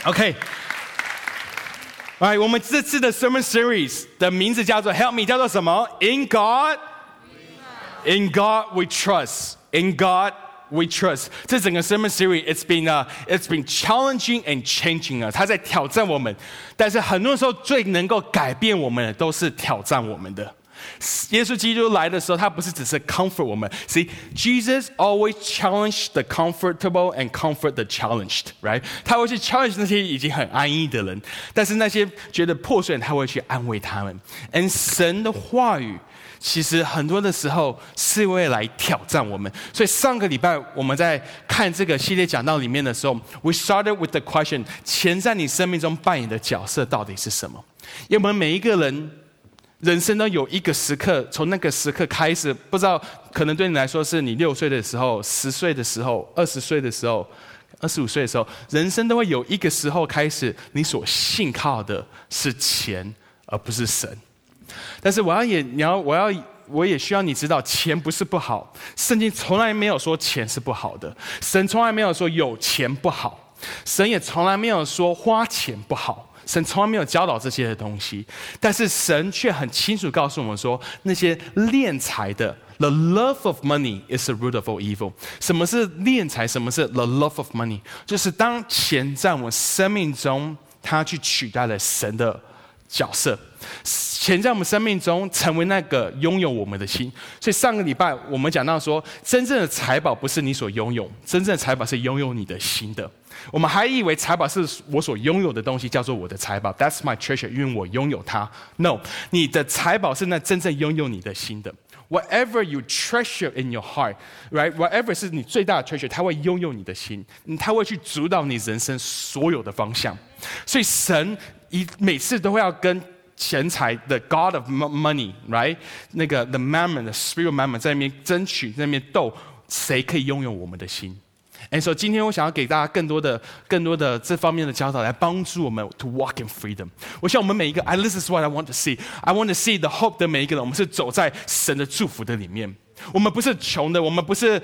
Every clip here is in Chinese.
OK， 我们这次的 Sermon Series 的名字叫做 Help Me， 叫做什么 ？In God we trust. In God we trust. 这整个 Sermon Series it's been challenging and changing us. 它在挑战我们，但是很多时候最能够改变我们的都是挑战我们的。耶稣基督来的时候，他不是只是 comfort 我们。See, Jesus always challenged the comfortable and comfort the challenged, right? 他会去 challenge 那些已经很安逸的人，但是那些觉得破碎的人，他会去安慰他们。And 神的话语其实很多的时候是为来挑战我们。所以上个礼拜我们在看这个系列讲道里面的时候 ，we started with the question： 钱在你生命中扮演的角色到底是什么？因为我们每一个人生都有一个时刻，从那个时刻开始，不知道可能对你来说是你6岁的时候、10岁的时候、20岁的时候、25岁的时候，人生都会有一个时候开始，你所信靠的是钱，而不是神。但是我也需要你知道，钱不是不好，圣经从来没有说钱是不好的，神从来没有说有钱不好，神也从来没有说花钱不好。神从来没有教导这些的东西，但是神却很清楚告诉我们说，那些敛财的 ，the love of money is the root of all evil。什么是敛财？什么是 the love of money？ 就是当钱在我们生命中，它去取代了神的角色，钱在我们生命中成为那个拥有我们的心。所以上个礼拜我们讲到说，真正的财宝不是你所拥有，真正的财宝是拥有你的心的。我们还以为财宝是我所拥有的东西，叫做我的财宝 ，That's my treasure， 因为我拥有它。No， 你的财宝是那真正拥有你的心的。Whatever you treasure in your heart, right? Whatever 是你最大的 treasure， 它会拥有你的心，它会去主导你人生所有的方向。所以神每次都会要跟钱财的 God of money, right? 那个 the mammon, the spirit mammon 在那边争取，在那边斗，谁可以拥有我们的心？And so 今天我想要给大家更多的这方面的教导，来帮助我们 to walk in freedom。我想我们每一个 this is what I want to see. I want to see the hope 的每一个人，我们是走在神的祝福的里面。我们不是穷的，我们不是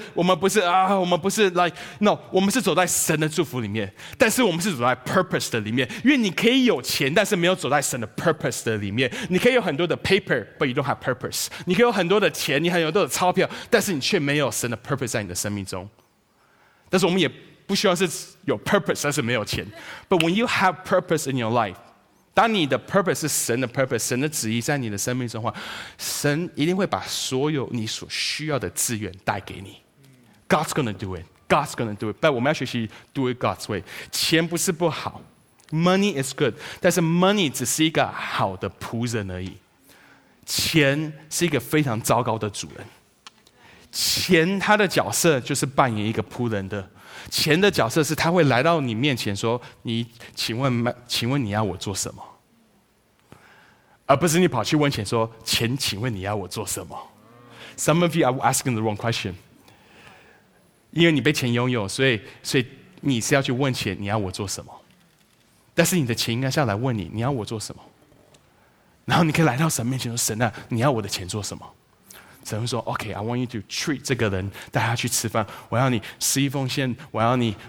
like no， 我们是走在神的祝福里面，但是我们是走在 purpose 的里面。因为你可以有钱，但是没有走在神的 purpose 的里面。你可以有很多的 paper，but you don't have purpose。你可以有很多的钱，你很多的钞票，但是你却没有神的 purpose 在你的生命中。但是我们也不需要是有 purpose， 但是没有钱。But when you have purpose in your life， 当你的 purpose 是神的 purpose， 神的旨意在你的生命中的话，神一定会把所有你所需要的资源带给你。God's gonna do it. God's gonna do it. 但我们要学习 do it God's way。钱不是不好 ，money is good， 但是 money 只是一个好的仆人而已。钱是一个非常糟糕的主人。钱他的角色就是扮演一个仆人的，钱的角色是他会来到你面前说：“请问你要我做什么？”而不是你跑去问钱说：“钱，请问你要我做什么？” Some of you are asking the wrong question。因为你被钱拥有，所以你是要去问钱，你要我做什么？但是你的钱应该是要来问你，你要我做什么？然后你可以来到神面前说：“神啊，你要我的钱做什么？”神会说 ：“OK, I want you to treat 这个人，带他去吃饭。我要你施一奉献。我要你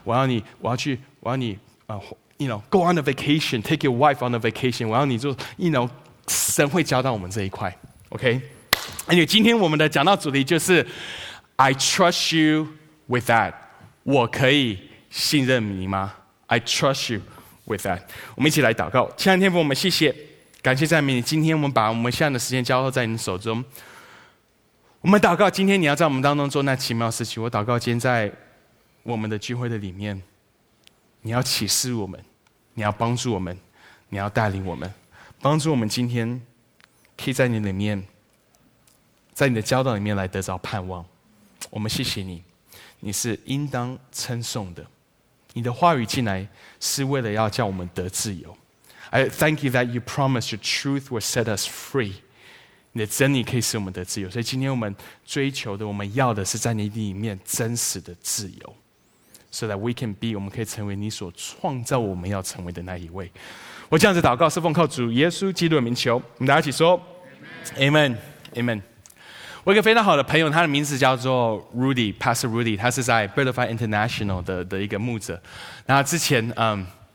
go on a vacation, take your wife on a vacation。我要你做神会教导我们这一块 ，OK？ 因为今天我们的讲道主题就是 I trust you with that。我可以信任你吗 ？I trust you with that。我们一起来祷告，亲爱的天父，我们谢谢，感谢赞美你。今天我们把我们现在的时间交托在你手中。我们祷告，今天你要在我们当中做那奇妙事情。我祷告，今天在我们的聚会的里面，你要启示我们，你要帮助我们，你要带领我们，帮助我们今天可以在你里面，在你的教导里面来得着盼望。我们谢谢你，你是应当称颂的。你的话语进来是为了要叫我们得自由。I thank you that you promise your truth will set us free。你的真理可以使我们得自由，所以今天我们追求的，我们要的是在你里面真实的自由 ，so that we can be， 我们可以成为你所创造我们要成为的那一位。我这样子祷告，是奉靠主耶稣基督的名求。我们大家一起说 ，Amen, Amen。我有一个非常好的朋友，他的名字叫做 Rudy， Pastor Rudy， 他是在 Butterfly International 的一个牧者。然后之前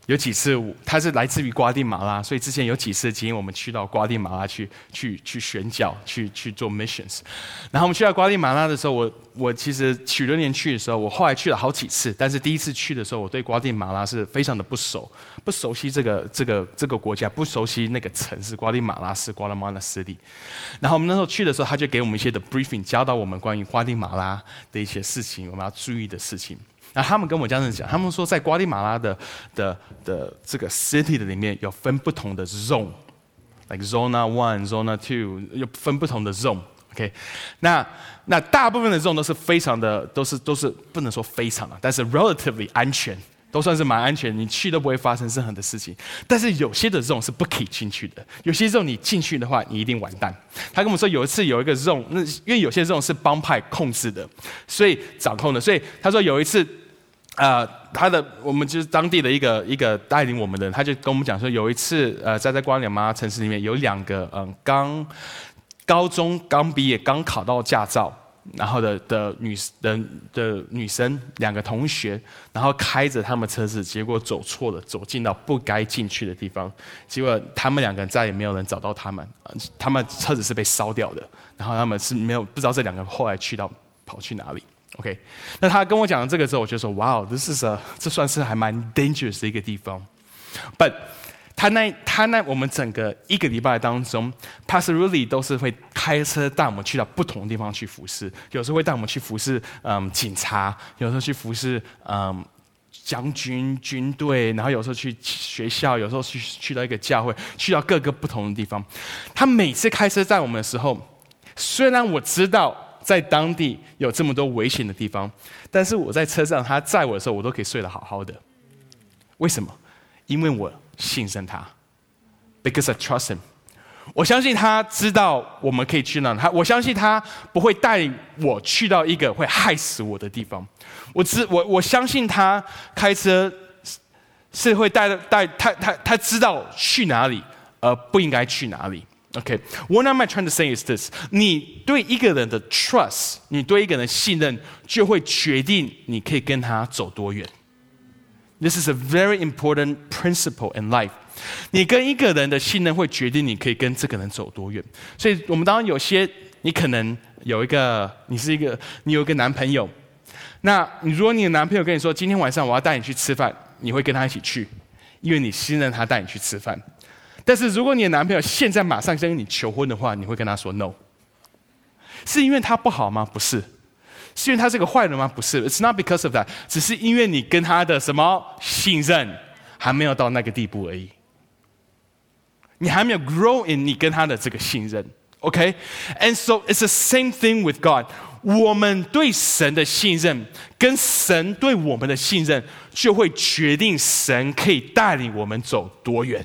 有几次他是来自于瓜地马拉，所以之前有几次经验我们去到瓜地马拉去宣教，去做 missions。然后我们去到瓜地马拉的时候，我其实许多年去的时候，我后来去了好几次，但是第一次去的时候，我对瓜地马拉是非常的不熟悉这个国家，不熟悉那个城市瓜地马拉是瓜拉马拉斯蒂。然后我们那时候去的时候，他就给我们一些的 briefing， 教导我们关于瓜地马拉的一些事情，我们要注意的事情。那他们跟我这样子讲，他们说在瓜地马拉的这个 city 的里面有分不同的 zone，like zona 1 zona 2，有分不同的 zone。OK， 那大部分的 zone 都是非常的，都是不能说非常的，但是 relatively 安全，都算是蛮安全，你去都不会发生任何的事情。但是有些的 zone 是不可以进去的，有些 zone 你进去的话，你一定完蛋。他跟我们说有一次有一个 zone， 因为有些 zone 是帮派控制的，所以掌控的，所以他说有一次。我们就是当地的一个带领我们的人，他就跟我们讲说，有一次在瓜地马拉城市里面有2个高中刚毕业刚考到驾照，然后的女生2个同学，然后开着他们车子，结果走错了，走进到不该进去的地方，结果他们2个人再也没有人找到他们，他们车子是被烧掉的，然后他们是不知道这2个后来跑去哪里。OK， 那他跟我讲这个之后，我就说，哇，这算是还蛮 dangerous 的一个地方。But 我们整个1个礼拜当中 ，Pastor Rudy 都是会开车带我们去到不同的地方去服侍，有时候会带我们去服侍警察，有时候去服侍将军军队，然后有时候去学校，有时候去到一个教会，去到各个不同的地方。他每次开车载我们的时候，虽然我知道。在当地有这么多危险的地方，但是我在车上他载我的时候，我都可以睡得好好的。为什么？因为我信任他 ，because I trust him。我相信他知道我们可以去哪里，我相信他不会带我去到一个会害死我的地方。我相信他开车是会带他知道去哪里，而不应该去哪里。Okay, what am I trying to say is this: 你对一个人的 trust， 你对一个人的信任，就会决定你可以跟他走多远。This is a very important principle in life. 你跟一个人的信任会决定你可以跟这个人走多远。所以，我们当然有些，你可能你有一个男朋友，那如果你的男朋友跟你说，今天晚上我要带你去吃饭，你会跟他一起去，因为你信任他带你去吃饭。但是如果你的男朋友现在马上跟你求婚的话，你会跟他说 no， 是因为他不好吗？不是，是因为他是个坏人吗？不是 ，It's not because of that， 只是因为你跟他的什么信任还没有到那个地步而已，你还没有 grow in 你跟他的这个信任 ，OK？And so it's the same thing with God。我们对神的信任，跟神对我们的信任，就会决定神可以带领我们走多远。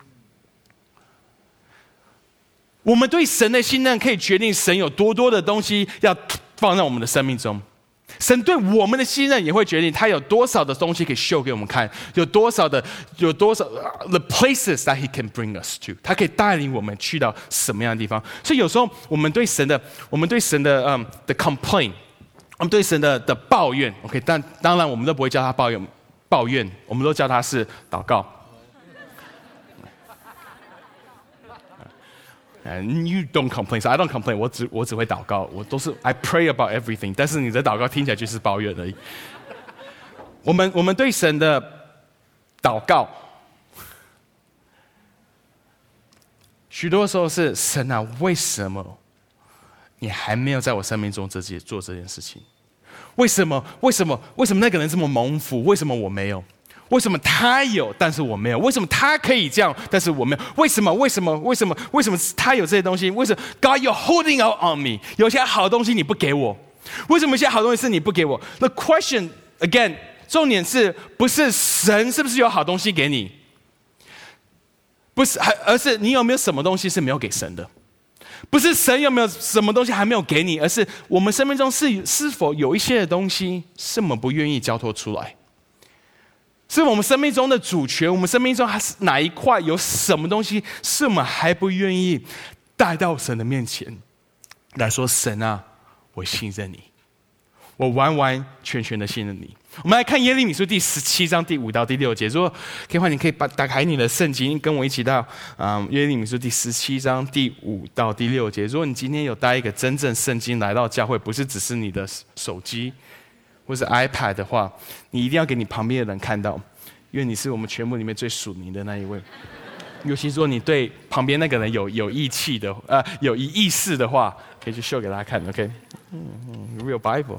我们对神的信任可以决定神有多多的东西要放在我们的生命中，神对我们的信任也会决定他有多少的东西可以秀给我们看，有多少 the places that he can bring us to， 他可以带领我们去到什么样的地方。所以有时候我们对神的的 complaint， 我们对神的抱怨 ，OK， 但当然我们都不会叫他抱怨，我们都叫他是祷告。And you don't complain, so I don't complain. 我只会祷告，我都是 I pray about everything. 但是你的祷告听起来就是抱怨而已。我们对神的祷告，许多时候是神啊，为什么你还没有在我生命中做这件事情？为什么那个人这么蒙福？为什么我没有？为什么他有，但是我没有？为什么他可以这样，但是我没有？为什么他有这些东西？为什么 God you're holding out on me？ 有些好东西你不给我，为什么有些好东西是你不给我 ？The question again， 重点是不是神是不是有好东西给你？不是，而是你有没有什么东西是没有给神的？不是神有没有什么东西还没有给你，而是我们生命中是否有一些的东西是我们不愿意交托出来。是我们生命中的主权，我们生命中还是哪一块有什么东西是我们还不愿意带到神的面前来说，神啊，我信任你， 我完完全全的信任你。我们来看耶利米书第17章第5到第6节。如果可以的话，你可以打开你的圣经，跟我一起到耶利米书第17章第5到第6节。如果你今天有带一个真正圣经来到教会，不是只是你的手机或是 iPad 的话，你一定要给你旁边的人看到，因为你是我们全部里面最属灵的那一位。尤其说你对旁边那个人有义气的，有意识的话，可以去秀给大家看 ，OK？Real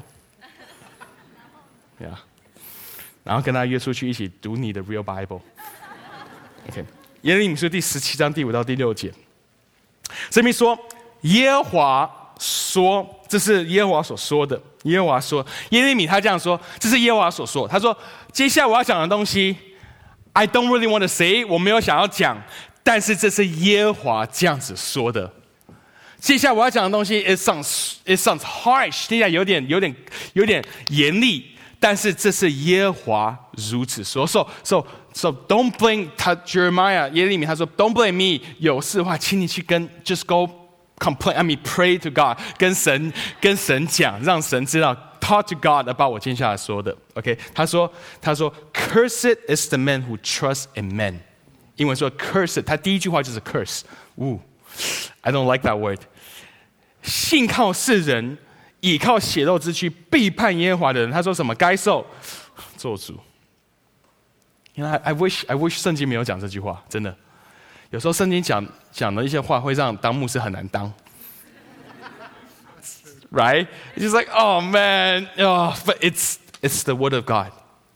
Bible。Yeah. 然后跟他约出去一起读你的 Real Bible。OK， 耶利米书第17章第5到第6节，这边说耶和华说，这是耶和华所说的。耶和华说，耶利米他这样说，这是耶和华所说。他说，接下来我要讲的东西 ，I don't really want to say， 我没有想要讲，但是这是耶和华这样子说的。接下来我要讲的东西 ，it sounds harsh， 听起来有点严厉。但是这是耶和华如此说 ，so don't blame 他 Jeremiah 耶利米他说 don't blame me， 有事的话，请你去跟 just go complain，I mean pray to God， 跟神讲，让神知道 talk to God about 我接下来说的 ，OK？ 他说 Cursed is the man who trusts in men， 英文说 cursed， 他第一句话就是 curse，I don't like that word， 信靠世人。倚靠血肉之躯背叛耶和华的人，他说什么？该受咒诅。I wish 圣经没有讲这句话，真的。有时候圣经讲的一些话，会让当牧师很难当。Right? It's just like, oh man, oh, but it's the word of God.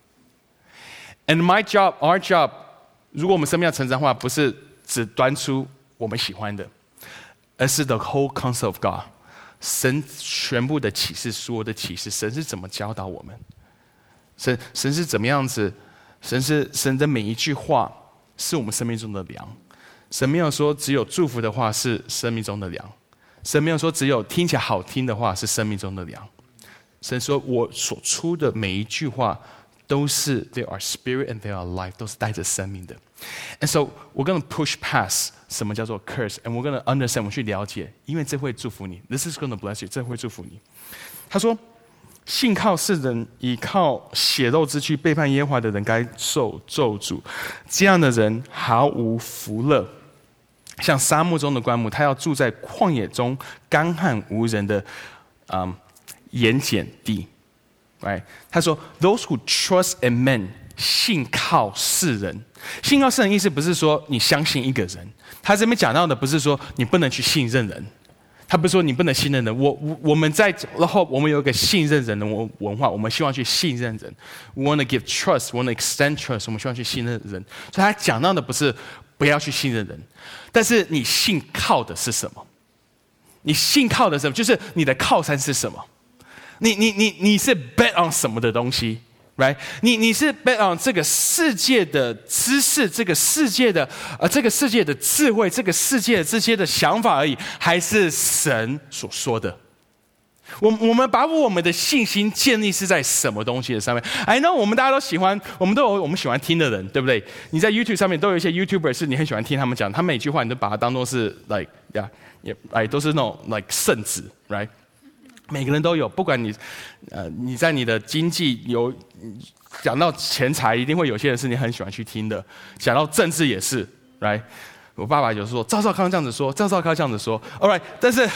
And my job, our job, 如果我们生命要成长的话，不是只端出我们喜欢的，而是 the whole counsel of God。神全部的启示，所有的启示，神是怎么教导我们？神是怎么样子？神的每一句话是我们生命中的粮。神没有说只有祝福的话是生命中的粮，神没有说只有听起来好听的话是生命中的粮。神说我所出的每一句话都是 they are spirit and they are life， 都是带着生命的。And so we're going to push past 什么叫做 curse， and we're going to understand， 我们去了解，因为这会祝福你。This is going to bless you， 这会祝福你。他说，信靠世人，倚靠血肉之躯背叛耶和华的人，该受咒诅。这样的人毫无福乐，像沙漠中的棺木，他要住在旷野中干旱无人的盐碱地。Right？ 他说 ，Those who trust in men， 信靠世人。信靠世人意思不是说你相信一个人，他这边讲到的不是说你不能去信任人，他不是说你不能信任人。我们在然后我们有一个信任人的文化，我们希望去信任人。We want to give trust, we want to extend trust， 我们希望去信任人。所以他讲到的不是不要去信任人，但是你信靠的是什么？你信靠的是什么？就是你的靠山是什么？你是 bet on 什么的东西 ，right？ 你是 bet on 这个世界的知识，这个世界的智慧，这个世界的这些的想法而已，还是神所说的？我们把我们的信心建立是在什么东西的上面 ？I know 我们大家都喜欢，我们喜欢听的人，对不对？你在 YouTube 上面都有一些 YouTuber 是你很喜欢听他们讲，他每句话你都把它当作是 都是那种 圣旨 ，right？每个人都有，不管你在你的经济有讲到钱财，一定会有些人是你很喜欢去听的。讲到政治也是 ，right？ 我爸爸有时候说赵少康这样子说，赵少康这样子说 ，all right， 但是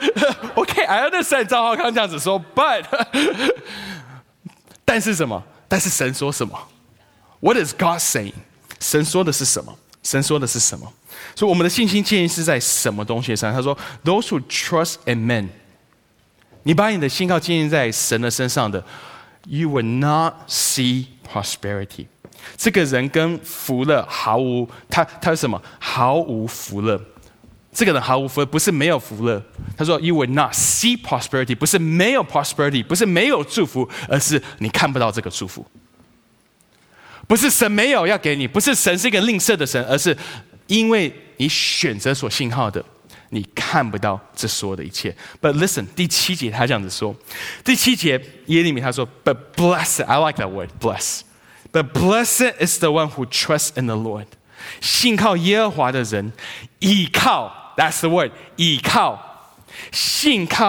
OK，I understand 赵少康这样子说 ，but 但是什么？但是神说什么 ？What is God saying？ 神说的是什么？神说的是什么？所以我们的信心建立是在什么东西上？他说 ，Those who trust in men。你把你的信靠建立在神的身上的 ，you will not see prosperity。这个人跟福乐毫无，他是什么？毫无福乐。这个人毫无福乐，不是没有福乐。他说 ，you will not see prosperity， 不是没有 prosperity， 不是没有祝福，而是你看不到这个祝福。不是神没有要给你，不是神是一个吝啬的神，而是因为你选择所信靠的。你看不到这所有的一切。But listen， 第7节他这样子说，第7节耶利米他说 ，But blessed, I like that word, blessed. But blessed is the one who trusts in the Lord. 信靠耶和华的人，倚靠 ，that's the word， 倚靠，信靠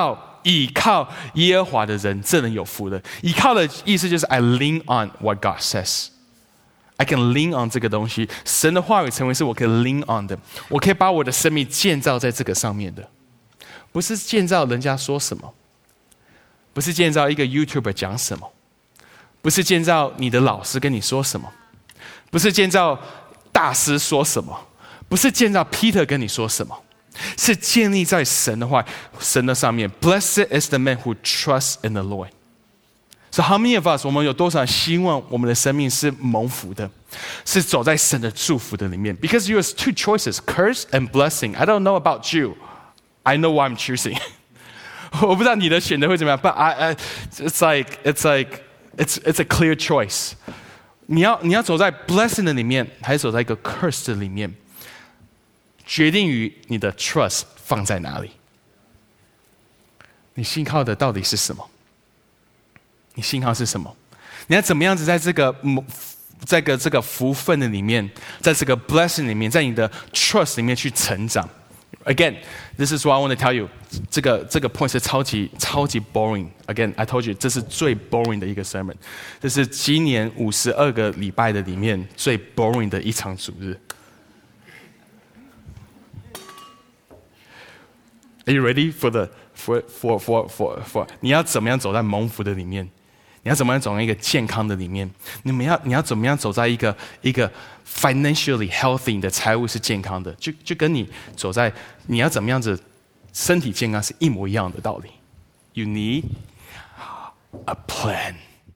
倚靠耶和华的人，这人有福了。倚靠的意思就是 I lean on what God says. I can lean on 这个东西，神的话语成为是我可以 lean on 的，我可以把我的生命建造在这个上面的，不是建造人家说什么，不是建造一个 YouTuber 讲什么，不是建造你的老师跟你说什么，不是建造大师说什么，不是建造 Peter 跟你说什么，是建立在神的话、神的上面。Blessed is the man who trusts in the Lord.So how many of us 我们有多少人希望我们的生命是蒙福的，是走在神的祝福的里面 ？Because you have two choices, curse and blessing. I don't know about you. I know what I'm choosing. 我不知道你的选择会怎么样 ，but it's a clear choice. 你要走在 blessing 的里面，还是走在一个 curse 的里面？决定于你的 trust 放在哪里。你信靠的到底是什么？你信号是什么？你要怎么样子在这个福分的里面，在这个 blessing 里面，在你的 trust 里面去成长。Again, this is what I want to tell you. 这个 point 是超级 boring. Again, I told you 这是最 boring 的一个 sermon. 这是今年52个礼拜的里面最 boring 的一场主日。Are you ready for 你要怎么样走在蒙福的里面？你要怎么样走在一个健康的里面？你要怎么样走在一个 financially healthy 你的财务是健康的？就跟你走在你要怎么样子身体健康是一模一样的道理。You need a plan.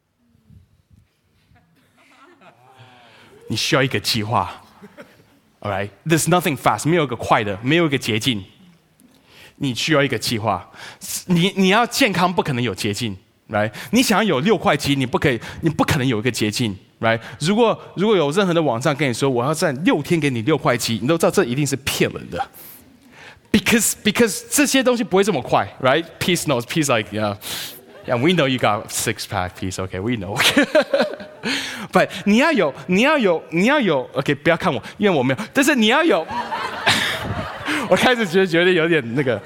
你需要一个计划。All right, there's nothing fast. 没有一个快的，没有一个捷径。你需要一个计划。你要健康，不可能有捷径。Right? 你想要有6块肌，你不可能有一个捷径。Right? 如果有任何的网站跟你说我要在6天给你6块肌，你都知道这一定是骗人的。Because 这些东西不会这么快。Right? Peace knows. Peace like yeah, we know you got 6-pack. Peace, okay, we know. But 你要有 OK， 不要看我，因为我没有。但是你要有，我开始觉得有点那个。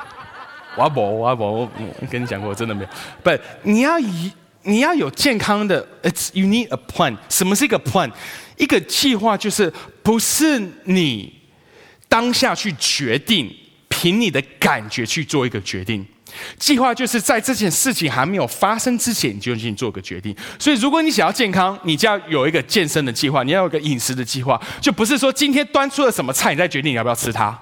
我跟你讲过，我真的没有。But 你要有健康的 ，you need a plan. 什么是一个 plan？ 一个计划就是不是你当下去决定，凭你的感觉去做一个决定。计划就是在这件事情还没有发生之前，你就已经做个决定。所以，如果你想要健康，你就要有一个健身的计划，你要有一个饮食的计划，就不是说今天端出了什么菜，你再决定你要不要吃它。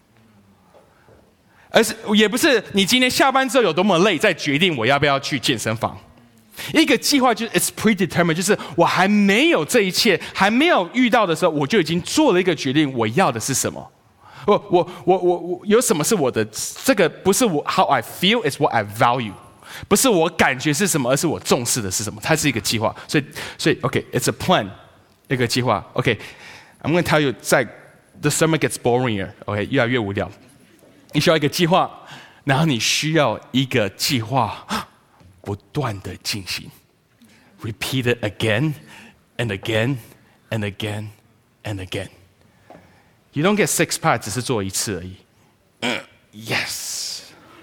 而是也不是你今天下班之后有多么累，再决定我要不要去健身房。一个计划就是 it's predetermined， 就是我还没有这一切，还没有遇到的时候，我就已经做了一个决定，我要的是什么。我有什么是我的？这个不是我 how I feel, it's what I value。不是我感觉是什么，而是我重视的是什么。它是一个计划，所以 OK, it's a plan， 一个计划。OK，I'm going to tell you， 在 the summer gets boring，OK， 越来越无聊。你需要一个计划，然后你需要一个计划不断的进行 ，repeat it again and again and again and again. You don't get 6-pack 只是做一次而已。Yes.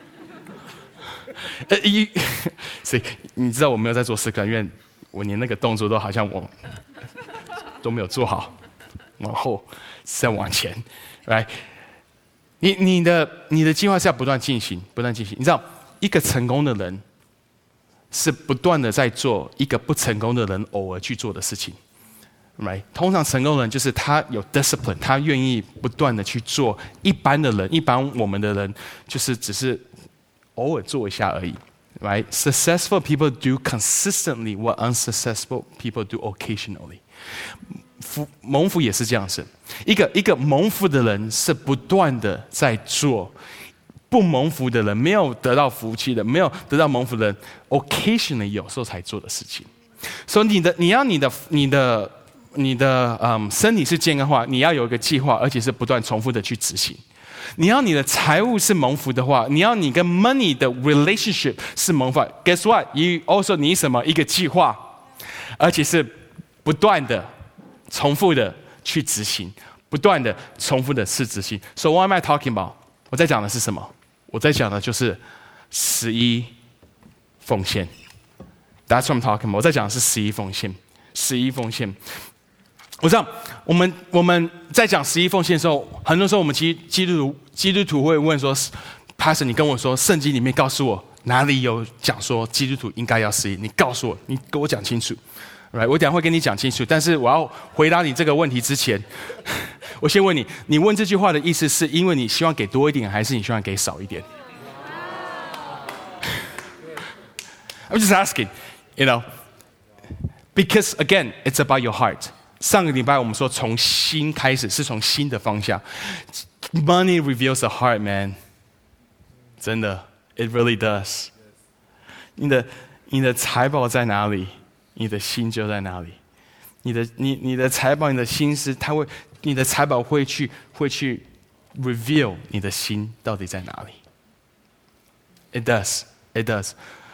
所以你知道我没有在做6-pack，因为我连那个动作都好像我都没有做好，往后再往前 ，right？你的计划是要不断进行，不断进行。你知道，一个成功的人是不断的在做一个不成功的人偶尔去做的事情。Right？ 通常成功的人就是他有 discipline， 他愿意不断的去做。一般我们的人就是只是偶尔做一下而已。Right? Successful people do consistently what unsuccessful people do occasionally. 蒙福也是这样子，一个蒙福的人是不断的在做，不蒙福的人，没有得到福气的，没有得到蒙福的人 ，occasionally 有时候才做的事情。所以你要你的身体是健康化，你要有一个计划，而且是不断重复的去执行。你要你的财务是蒙福的话，你要你跟 money 的 relationship 是蒙福。Guess what? You also need 什么？一个计划，而且是不断的、重复的去执行，不断的、重复的去执行。So what am I talking about? 我在讲的是什么？我在讲的就是 11奉献。That's what I'm talking about. 我在讲的是11奉献，11奉献。我知道我们在讲11奉献的时候，很多时候我们基督徒会问说 ，Pastor， 你跟我说圣经里面告诉我哪里有讲说基督徒应该要11？你告诉我，你给我讲清楚。Right， 我等一下会跟你讲清楚，但是我要回答你这个问题之前，我先问你，你问这句话的意思是因为你希望给多一点，还是你希望给少一点？I'm just asking, you know, because again, it's about your heart. 上个礼拜我们说从心开始，是从心的方向。Money reveals the heart, man. 真的 ，it really does. 你的财宝在哪里？你的心就在哪里，你的财宝，你的心思，你的财宝会去 reveal 你的心到底在哪里。It does.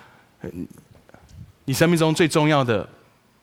你生命中最重要的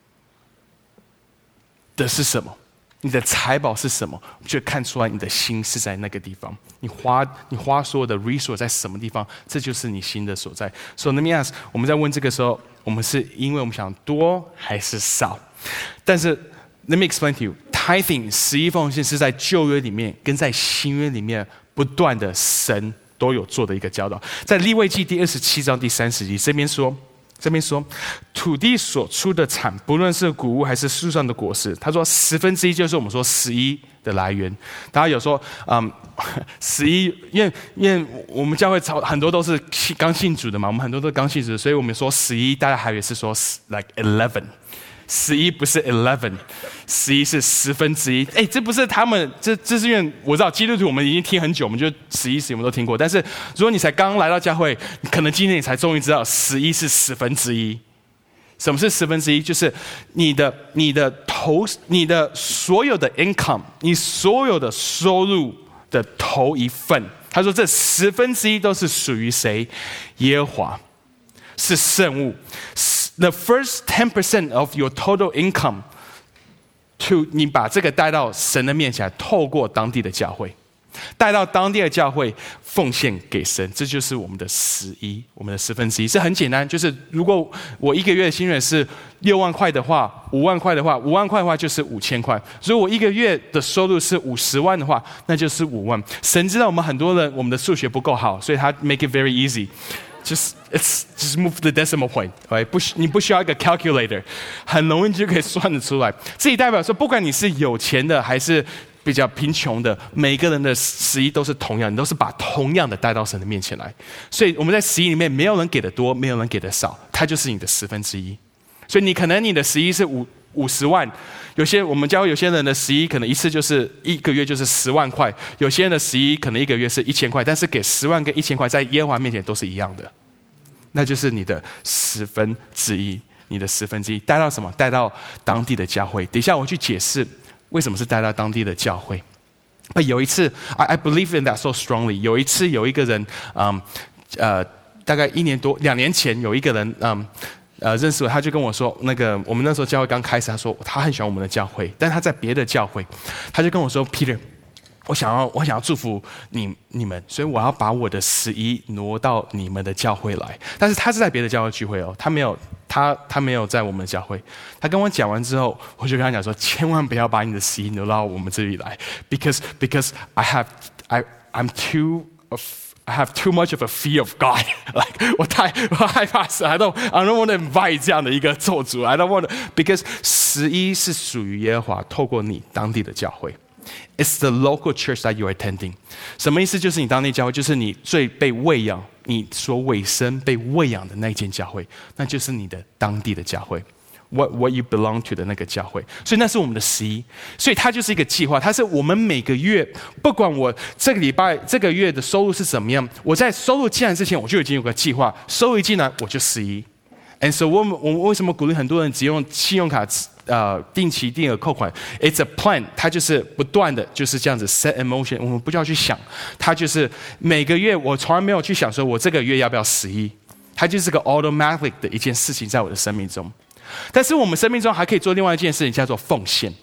是什么？你的财宝是什么？就看出来你的心是在那个地方。你花所有的 resource 在什么地方，这就是你心的所在。So let me ask， 我们在问这个时候，我们是因为我们想多还是少？但是 let me explain to you，tithing 11奉献是在旧约里面跟在新约里面不断的神都有做的一个教导。在利未记第27章第30节这边说，土地所出的产，不论是谷物还是树上的果实，他说1/10就是我们说11的来源。大家有说，11，因为我们教会很多都是刚信主的嘛，我们很多都是刚信主的，所以我们说11，大家还以为是说 like 11。11不是 11，11是1/10。哎，这不是他们，这是因为我知道基督徒我们已经听很久，我们就11我们都听过。但是如果你才刚来到教会，可能今天你才终于知道11是1/10。什么是1/10？就是你的所有的 income， 你所有的收入的头一份。他说这1/10都是属于谁？耶和华，是圣物。The first 10% of your total income， 你把这个带到神的面前，透过当地的教会，带到当地的教会奉献给神，这就是我们的11，我们的1/10。是很简单，就是如果我一个月的薪水是6万块的话，5万块的话就是5000块。如果我一个月的收入是50万的话，那就是5万。神知道我们很多人我们的数学不够好，所以他 make it very easy。Just move the decimal point， 你不需要一个 calculator， 很容易就可以算得出来。这也代表说，不管你是有钱的还是比较贫穷的，每个人的11都是同样，你都是把同样的带到神的面前来。所以我们在11里面，没有人给的多，没有人给的少，它就是你的1/10。所以你可能你的11是50万，我们教会有些人的11可能一次就是一个月就是10万块，有些人的11可能一个月是1000块，但是给10万跟1000块在耶和华面前都是一样的，那就是你的1/10，你的1/10带到什么？带到当地的教会。等一下我去解释为什么是带到当地的教会。有一次 I believe in that so strongly。有一次有一个人，大概1年多2年前有一个人，认识我，他就跟我说，我们那时候教会刚开始，他说他很喜欢我们的教会，但他在别的教会，他就跟我说 ，Peter， 我想要祝福你们，所以我要把我的11挪到你们的教会来。但是他是在别的教会聚会哦，他没有在我们的教会。他跟我讲完之后，我就跟他讲说，千万不要把你的11挪到我们这里来 ，because I have too much of a fear of God. Like 我害怕神 I don't want to invite 这样的一个咒诅。I don't want to because 11是属于耶和华，透过你当地的教会。It's the local church that you're attending. 什么意思？就是你当地教会，就是你最被喂养，你所委身被喂养的那间教会，那就是你的当地的教会。What you belong to 的那个教会，所以那是我们的11，所以它就是一个计划，它是我们每个月，不管我这个月的收入是怎么样，我在收入进来之前，我就已经有个计划，收入一进来我就11。And so 我们为什么鼓励很多人只用信用卡定期定额扣款 ？It's a plan， 它就是不断的就是这样子 set in motion， 我们不需要去想，它就是每个月我从来没有去想说我这个月要不要11，它就是个 automatic 的一件事情在我的生命中。但是我们生命中还可以做另外一件事情，叫做奉献。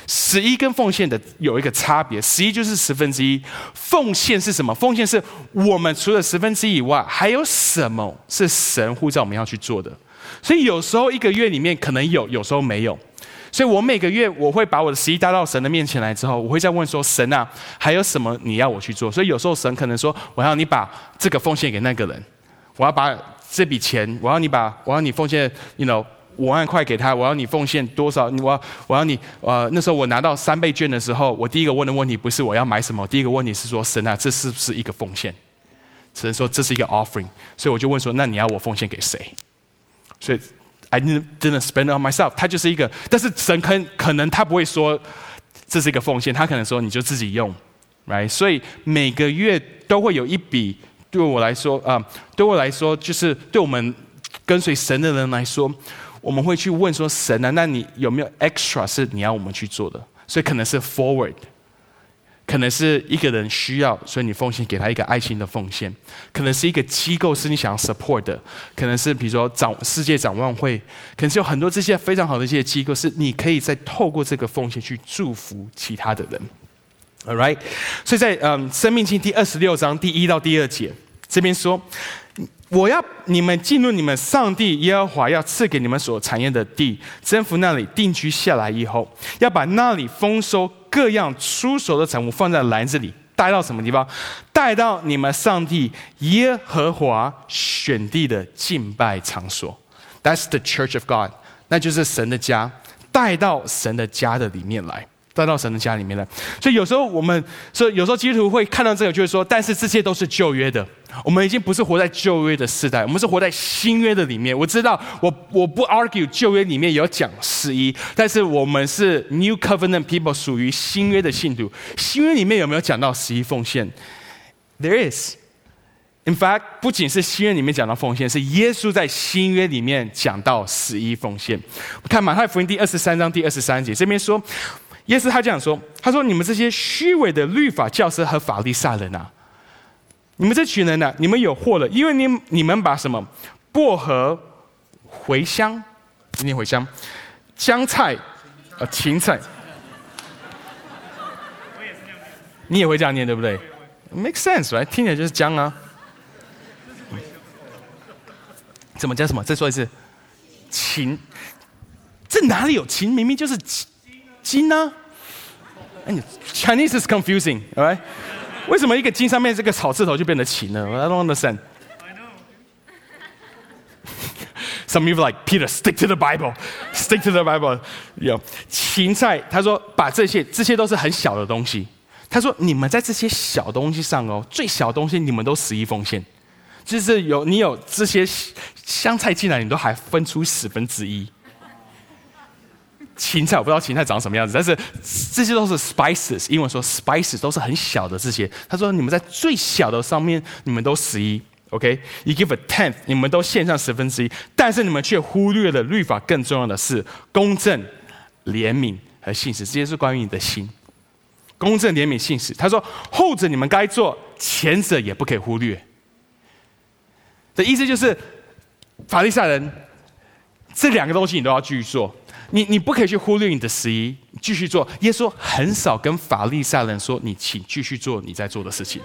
11跟奉献的有一个差别，11就是1/10，奉献是什么？奉献是我们除了1/10以外，还有什么是神呼召我们要去做的？所以有时候一个月里面可能有，有时候没有。所以我每个月我会把我的11带到神的面前来之后，我会再问说：神啊，还有什么你要我去做？所以有时候神可能说：我要你把这个奉献给那个人，我要把这笔钱，我要你奉献，5万块给他，我要你奉献多少？我要你那时候我拿到3倍券的时候，我第一个问的问题不是我要买什么，第一个问题是说：神啊，这是不是一个奉献？神说这是一个 offering， 所以我就问说：那你要我奉献给谁？所以 I didn't spend it on myself， 他就是一个，但是神可能他不会说这是一个奉献，他可能说你就自己用 ，right？ 所以每个月都会有一笔，对我来说就是对我们跟随神的人来说，我们会去问说：神啊，那你有没有 extra 是你要我们去做的？所以可能是 forward。可能是一个人需要，所以你奉献给他一个爱心的奉献；可能是一个机构是你想要 support 的；可能是比如说世界展望会；可能是有很多这些非常好的一些机构，是你可以再透过这个奉献去祝福其他的人。All right， 所以在申命记第26章第1到第2节这边说：我要你们进入你们上帝耶和华要赐给你们所产业的地，征服那里，定居下来以后，要把那里丰收各样出熟的产物放在篮子里，带到什么地方？带到你们上帝耶和华选地的敬拜场所。That's the church of God， 那就是神的家，带到神的家的里面来。带到神的家里面来，所以有时候基督徒会看到这个，就会说：但是这些都是旧约的，我们已经不是活在旧约的世代，我们是活在新约的里面。我知道，我不 argue 旧约里面有讲11，但是我们是 New Covenant people， 属于新约的信徒。新约里面有没有讲到11奉献 ？There is。In fact， 不仅是新约里面讲到奉献，是耶稣在新约里面讲到11奉献。看马太福音第23章第23节，这边说。耶稣他这样说：“他说你们这些虚伪的律法教师和法利赛人啊，你们这群人啊，你们有祸了，因为你们把什么薄荷、茴香，念茴香、姜菜、芹菜，你也会这样念对不对 ？Make sense， right？ 听起来就是姜啊。怎么叫什么？再说一次，芹，这哪里有芹？明明就是金呢？Chinese is confusing， right？ 为什么一个金上面这个草字头就变成芹呢 ？I don't understand. Some people like Peter, stick to the Bible, stick to the Bible. 芹菜，他说把这些都是很小的东西。他说你们在这些小东西上最小的东西你们都11奉献，就是你有这些香菜进来，你都还分出1/10。芹菜我不知道芹菜长什么样子，但是这些都是 spices， 英文说 spices 都是很小的这些。他说你们在最小的上面你们都11，OK？ You give a tenth， 你们都献上1/10，但是你们却忽略了律法更重要的是公正、怜悯和信实，这些是关于你的心。公正、怜悯、信实，他说后者你们该做，前者也不可以忽略。的意思就是法利赛人这2个东西你都要继续做。你不可以去忽略你的11，继续做。耶稣很少跟法利赛人说：“你请继续做你在做的事情。”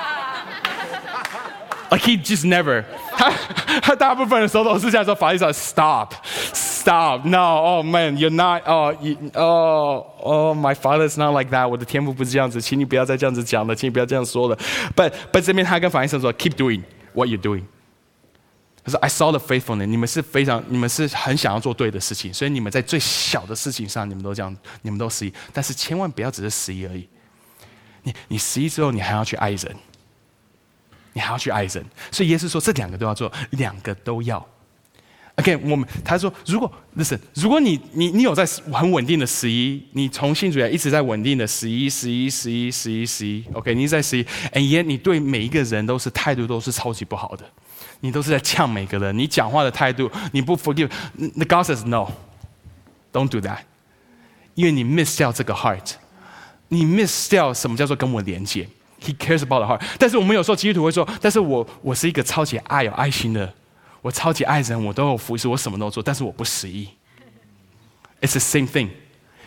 Like he just never， 他大部分的时候都是这样说。法利赛人 ，Stop， no， oh man，you're not，oh my father's not like that， 我的天父不是这样子，请你不要再这样子讲了，请你不要这样说了。But 这边他跟法利赛人说 ：“Keep doing what you're doing。”他说 ：“I saw the faithfulness， 你们是很想要做对的事情，所以你们在最小的事情上，你们都这样，你们都11，但是千万不要只是11而已。你11之后，你还要去爱人，你还要去爱人。所以耶稣说，这2个都要做，2个都要。OK， 他说，如果你有在很稳定的11，你从信主以来一直在稳定的11，OK， 你一直在11，你对每一个人态度都是超级不好的。”你都是在呛每个人，你讲话的态度，你不 forgive。The God says no, don't do that， 因为你 miss 掉这个 heart， 你 miss 掉什么叫做跟我连接。He cares about the heart。但是我们有时候基督徒会说，但是我是一个超级有爱心的，我超级爱人，我都有服侍，我什么都做，但是我不11。It's the same thing。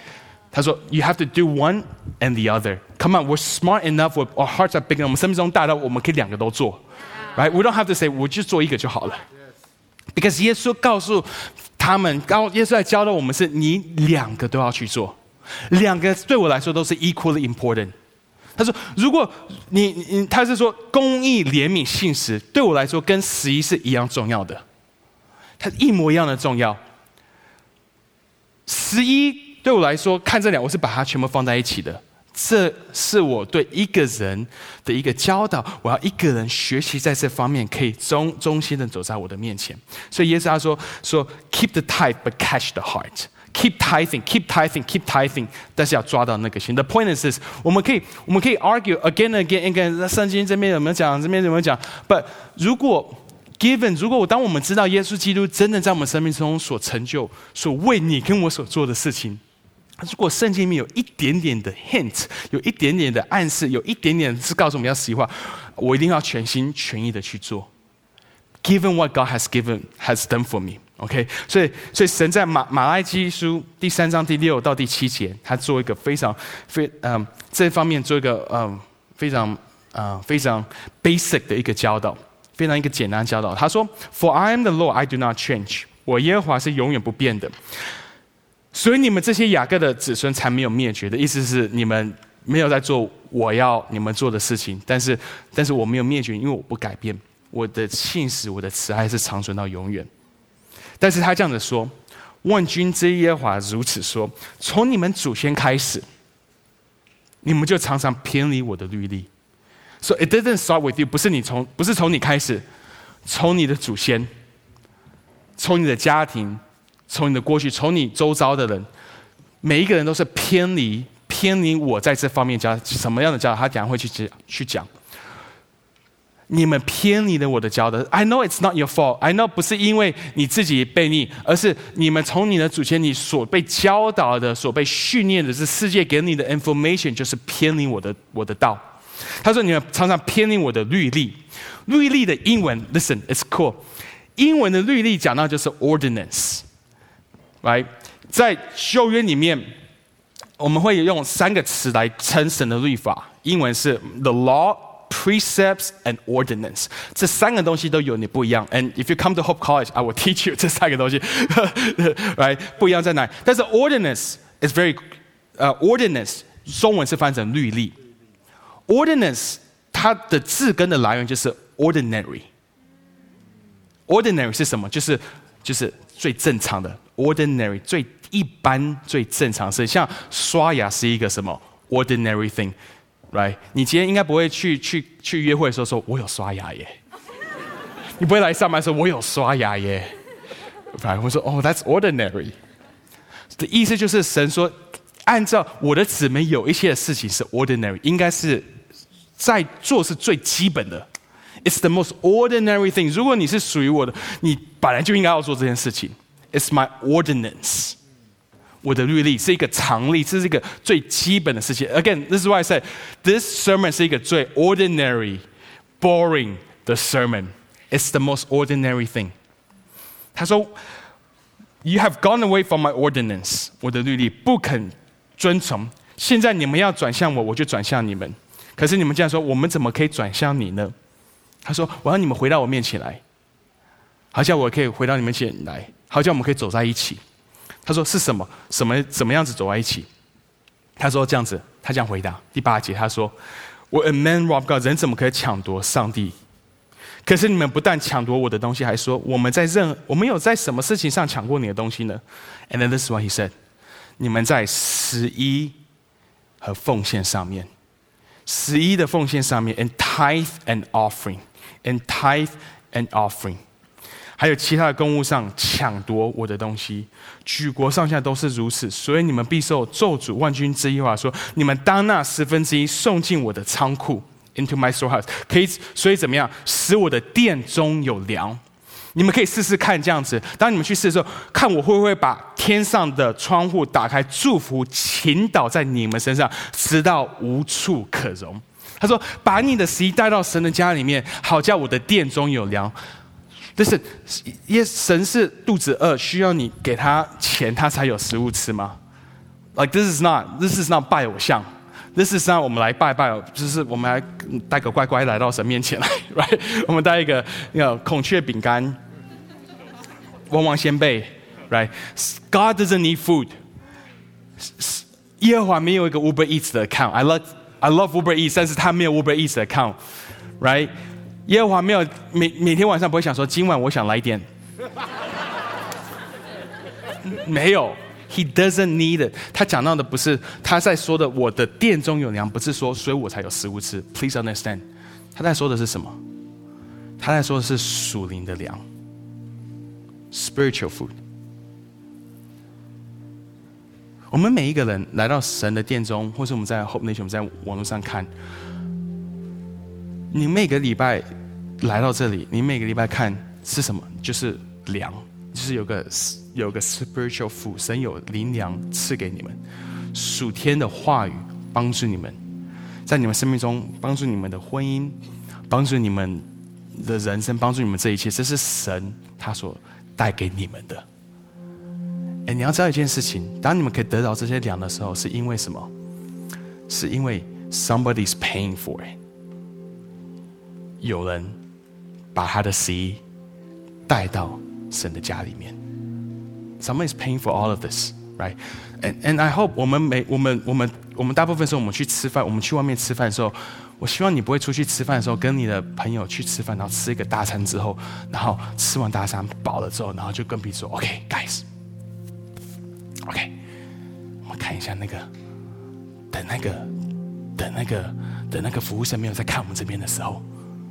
他说 You have to do one and the other. Come on, we're smart enough, our hearts are big enough. 我们生命中大到我们可以两个都做。Right? We don't have to say 我就做一个就好了。Because 耶稣告诉他们，耶稣在教导我们是你两个都要去做，两个对我来说都是 equally important。他说，如果他是说公义、怜悯、信实，对我来说跟11是一样重要的，它一模一样的重要。11对我来说，看这两，我是把它全部放在一起的。这是我对一个人的一个教导，我要一个人学习在这方面可以忠心的走在我的面前。所以耶稣他说 keep the tithe but catch the heart. Keep tithing, keep tithing, keep tithing. 但是要抓到那个心。The point is this: 我们可以 argue again and again. 圣经这边有没有讲？这边有没有讲 ？But 如果当我们知道耶稣基督真的在我们生命中所成就、所为你跟我所做的事情。如果圣经里面有一点点的 hint， 有一点点的暗示，有一点点是告诉我们要实话，我一定要全心全意的去做。Given what God has done for me， OK， 所以神在马拉基书第3章第6到第7节，他做一个这方面做一个非常 basic 的一个教导，非常一个简单的教导。他说 ：“For I am the Lord, I do not change。我耶和华是永远不变的。”所以你们这些雅各的子孙才没有灭绝的意思是你们没有在做我要你们做的事情，但是我没有灭绝，因为我不改变，我的信实、我的慈爱是长存到永远。但是他这样子说：“万军之耶和华如此说，从你们祖先开始，你们就常常偏离我的律例。So it didn't start with you， 不是从你开始，从你的祖先，从你的家庭。”从你的过去，从你周遭的人，每一个人都是偏离我在这方面教什么样的教导，他等下会去讲。你们偏离了我的教导。I know it's not your fault. I know 不是因为你自己悖逆，而是你们从你的祖先你所被教导的、所被训练的，是世界给你的 information 就是偏离我的道。他说你们常常偏离我的律例。律例的英文 ，listen, it's cool。英文的律例讲到就是 ordinance。Right， 在旧约里面，我们会用3个词来称神的律法。英文是 the law, precepts and ordinance。这3个东西都有你不一样。And if you come to Hope College, I will teach you 这3个东西。Right， 不一样在哪里？但是 ordinance is ordinance 中文是翻成律例。ordinance 它的字根的来源就是 ordinary。ordinary 是什么？就是最正常的。ordinary 最一般最正常是像刷牙是一个什么 ordinary thing， right？ 你今天应该不会去约会的时候说我有刷牙耶，你不会来上班说我有刷牙耶， right？ 我说哦 that's ordinary 的意思就是神说按照我的姊妹有一些的事情是 ordinary， 应该是在做是最基本的。It's the most ordinary thing。如果你是属于我的，你本来就应该要做这件事情。It's my ordinance。我的律例是一个常例，这是一个最基本的事情。Again, this is why I said this sermon 是一个最 ordinary, boring 的 sermon. It's the most ordinary thing。他说 ，You have gone away from my ordinance。我的律例不肯遵从，现在你们要转向我，我就转向你们。可是你们这样说，我们怎么可以转向你呢？他说：“我要你们回到我面前来，好像我可以回到你们面前来，好像我们可以走在一起。”他说：“是什么？怎么样子走在一起？”他说：“这样子。”他这样回答。第8节他说 ：“Will a man rob God？ 人怎么可以抢夺上帝？可是你们不但抢夺我的东西，还说我们有在什么事情上抢过你的东西呢 ？” And then this is what he said： 你们在11和奉献上面，11的奉献上面 ，and tithe and offering。And tithe and offering， 还有其他的公物上抢夺我的东西，举国上下都是如此，所以你们必受咒诅。万军之耶和华说：你们当那1/10送进我的仓库 ，into my storehouse， 可以，所以怎么样，使我的殿中有粮。你们可以试试看这样子。当你们去试的时候，看我会不会把天上的窗户打开，祝福倾倒在你们身上，直到无处可容。他说：“把你的11带到神的家里面，好叫我的殿中有粮。”但是，神是肚子饿，需要你给他钱，他才有食物吃吗？ Like this is not 拜偶像。This is not 我们来拜拜，就是我们来带个乖乖来到神面前来 ，right？ 我们带一个孔雀饼干，旺旺仙贝 ，right？God doesn't need food。耶和华没有一个 Uber Eats 的 account。I love Uber Eats， 但是他没有 Uber Eats 的 account，right？ 耶和华没有每天晚上不会想说今晚我想来一点，没有。He doesn't need it。他讲到的不是他在说的我的殿中有粮，不是说所以我才有食物吃。Please understand， 他在说的是什么？他在说的是属灵的粮 ，spiritual food。我们每一个人来到神的殿中，或是我们在 Hope Nation， 我们在网络上看，你每个礼拜来到这里，你每个礼拜看是什么？就是粮，就是有个 spiritual food， 神有灵粮赐给你们，属天的话语帮助你们，在你们生命中帮助你们的婚姻，帮助你们的人生，帮助你们这一切，这是神他所带给你们的。你要知道一件事情，当你们可以得到这些粮的时候，是因为什么？是因为 somebody's paying for it， 有人把他的食带到神的家里面。Someone is paying for all of this, right? And I hope 我们大部分时候我们去吃饭，我们去外面吃饭的时候，我希望你不会出去吃饭的时候跟你的朋友去吃饭，然后吃一个大餐之后，然后吃完大餐饱了之后，然后就跟彼此说 ，OK, guys, OK， 我们看一下那个，等那个服务生没有在看我们这边的时候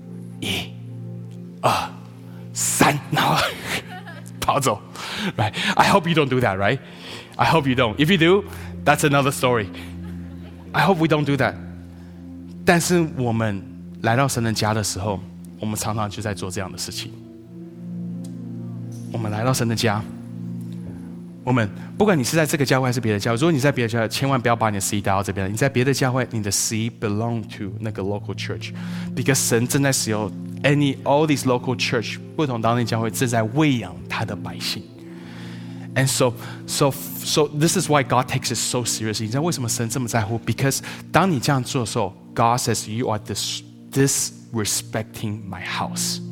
，1、2、3，然后跑走 ，right? I hope you don't do that, right? I hope you don't. If you do, that's another story. I hope we don't do that. 但是我们来到神的家的时候，我们常常就在做这样的事情。我们来到神的家，我们不管你是在这个教会还是别的教会，如果你在别的教会，千万不要把你的食带到这边。你在别的教会，你的食 belong to 那个 local church，because 神正在使用 all these local church 不同当地教会正在喂养他的百姓。And so this is why God takes it so seriously. 你知道为什么神这么在乎 ？Because 当你这样做的时候 ，God says you are disrespecting my house.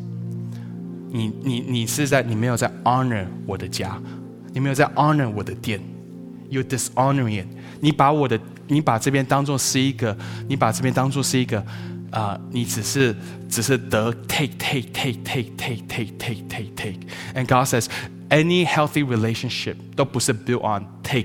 你没有在 honor 我的家，你没有在 honor 我的殿 ，you're dishonoring it. 你把这边当作是一个，你只是得 take. And God says.Any healthy relationship 都不是 built on take.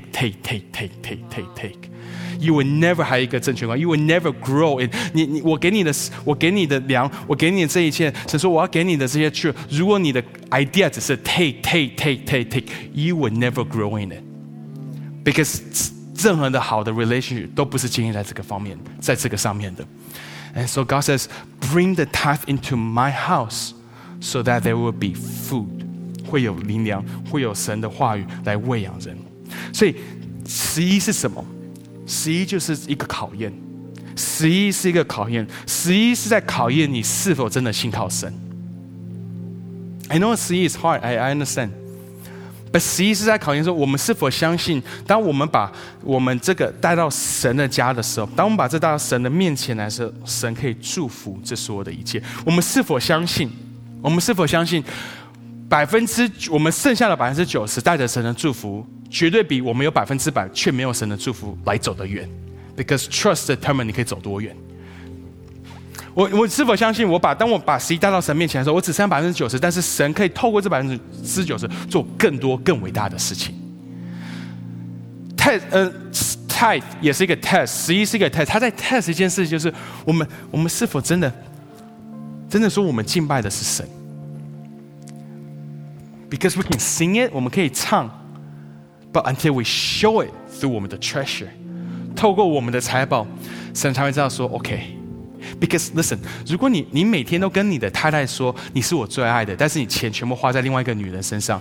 You will never 还有一个正确观 ，You will never grow in 我给你的粮，我给你的这一切，神说我要给你的这些去，如果你的 idea 只是 take, you will never grow in it. Because 任何的好的 relationship 都不是建立在这个方面，在这个上面的。And so God says, bring the tithe into my house, so that there will be food.会有灵粮，会有神的话语来喂养人。所以11是什么？11就是一个考验，11是一个考验，11是在考验你是否真的信靠神。I know 11 is hard, I understand. But 11是在考验说，我们是否相信，当我们把我们这个带到神的家的时候，当我们把这带到神的面前来的时候，神可以祝福这所有的一切。我们是否相信？我们是否相信？我们剩下的90%带着神的祝福，绝对比我们有100%却没有神的祝福来走得远。Because trust determines 你可以走多远。我是否相信当我把11带到神面前的时候，我只剩下90%，但是神可以透过这90%做更多更伟大的事情。Tithe 也是一个 test，11是一个 test， 他在 test 一件事，就是我们是否真的说我们敬拜的是神。Because we can sing it, 我们可以唱 ，but until we show it through 我们的 treasure， 透过我们的财宝，神才会知道说 OK。Because listen， 如果你每天都跟你的太太说你是我最爱的，但是你钱全部花在另外一个女人身上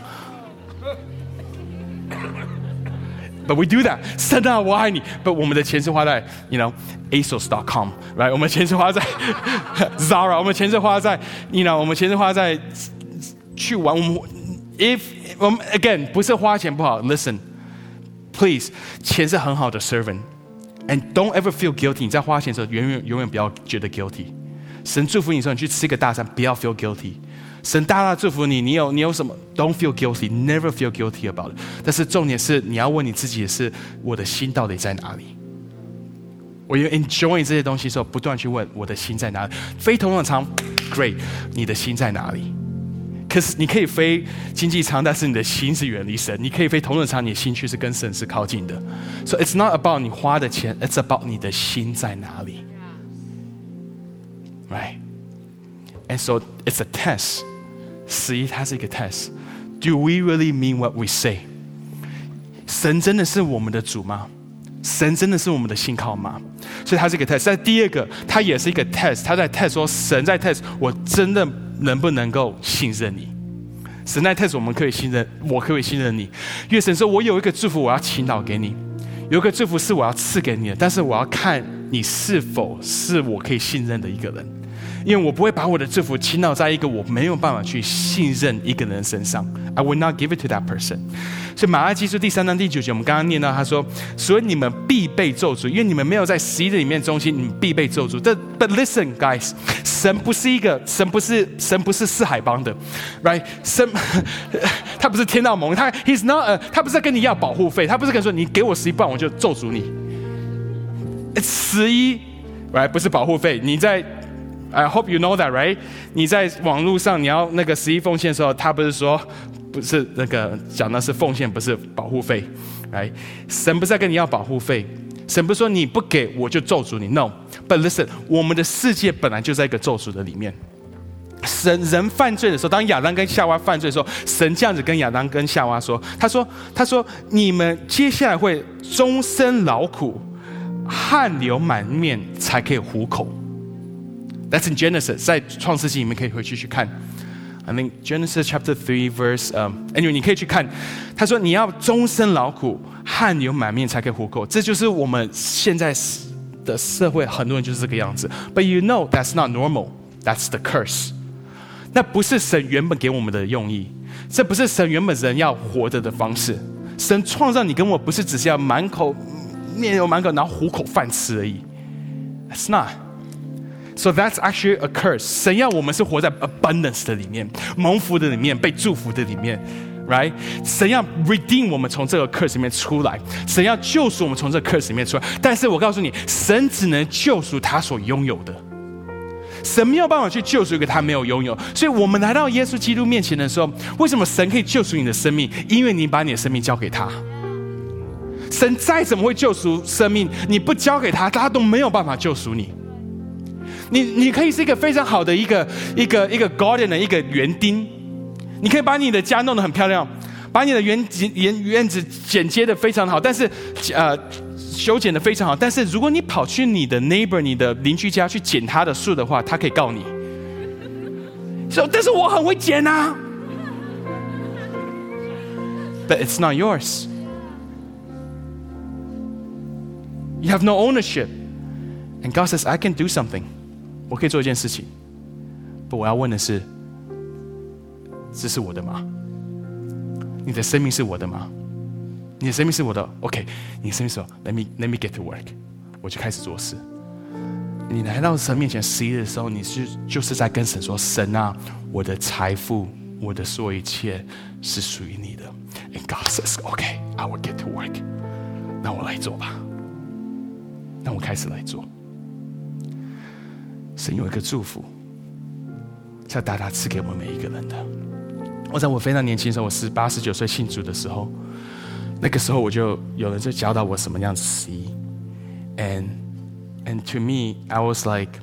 ，but we do that， 神啊，我爱你 ，but 我们的钱是花在ASOS.com， right？ 我们钱是花在 Zara， 我们钱是花在我们钱是花在去玩我们。If again 不是花钱不好 ，Listen， please， 钱是很好的 servant。And don't ever feel guilty。你在花钱的时候，永远不要觉得 guilty。神祝福你的时候，你去吃个大餐，不要 feel guilty。神大大祝福你，你有什么 ？Don't feel guilty， never feel guilty about it。但是重点是，你要问你自己的是，我的心到底在哪里？我有 enjoy 这些东西的时候，不断去问我的心在哪里。飞头等舱 ，great， 你的心在哪里？可是你可以飞经济舱，但是你的心是远离神。你可以飞头等舱，你的心却是跟神是靠近的。So it's not about 你花的钱 ，it's about 你的心在哪里。Right? And so it's a test. 11它是一个 test. Do we really mean what we say? 神真的是我们的主吗？神真的是我们的信靠吗？所以它是一个 test。但第二个，它也是一个 test。它在 test 说，神在 test 我真的能不能够信任你？神在 test 我们可以信任，我可以信任你。因为神说，我有一个祝福，我要倾倒给你；有一个祝福是我要赐给你的，但是我要看你是否是我可以信任的一个人。因为我不会把我的祝福倾倒在一个我没有办法去信任一个人身上。I will not give it to that person。所以马拉基书第3章第9节，我们刚刚念到他说，所以你们必被咒诅，因为你们没有在11里面中心，你们必被咒诅。But listen, guys， 神不是四海帮的 ，right？ 神他不是天道盟，他不是在跟你要保护费，他不是跟你说你给我11，不然我就咒诅你。11， right？ 不是保护费，你在。I hope you know that, right？ 你在网络上你要那个11奉献的时候，他不是说不是那个讲的是奉献，不是保护费，right？ 神不是在跟你要保护费，神不是说你不给我就咒诅你 ，no。But listen， 我们的世界本来就在一个咒诅的里面。人犯罪的时候，当亚当跟夏娃犯罪的时候，神这样子跟亚当跟夏娃说，他说你们接下来会终身劳苦，汗流满面才可以糊口。That's in Genesis， 在创世纪里面可以回去看。I mean Genesis chapter 3 verse anyway 你可以去看。他说你要终身劳苦，汗流满面才可以糊口。这就是我们现在的社会，很多人就是这个样子。But you know that's not normal. That's the curse. 那不是神原本给我们的用意，这不是神原本人要活着的方式。神创造你跟我，不是只是要面有满口，然后糊口饭吃而已。That's not.So that's actually a curse. 神要我们是活在 abundance 的里面，蒙福的里面，被祝福的里面 ，right？ 神要 redeem 我们从这个 curse 里面出来，神要救赎我们从这个 curse 里面出来。但是我告诉你，神只能救赎他所拥有的，神没有办法去救赎一个他没有拥有。所以我们来到耶稣基督面前的时候，为什么神可以救赎你的生命？因为你把你的生命交给他。神再怎么会救赎生命，你不交给他，他都没有办法救赎你。你可以是一个非常好的一个 garden 的一个园丁，你可以把你的家弄得很漂亮，把你的院子剪接的非常好，但是修剪的非常好。但是如果你跑去你的 neighbor 你的邻居家去剪他的树的话，他可以告你。但是我很会剪啊。But it's not yours. You have no ownership. And God says, I can do something. 我可以做一件事情，不，我要问的是，这是我的吗？你的生命是我的吗？你的生命是我的 ，OK， 你的生命是我 ，Let me get to work， 我就开始做事。你来到神面前11的时候，你就是在跟神说，神啊，我的财富，我的所有一切是属于你的。And God says, OK, I will get to work。那我来做吧，那我开始来做。神有一个祝福，是要大大赐给我们每一个人的。我在我非常年轻的时候，我18、19岁信主的时候，那个时候我就有人就教导我什么样子11 ，and to me I was like，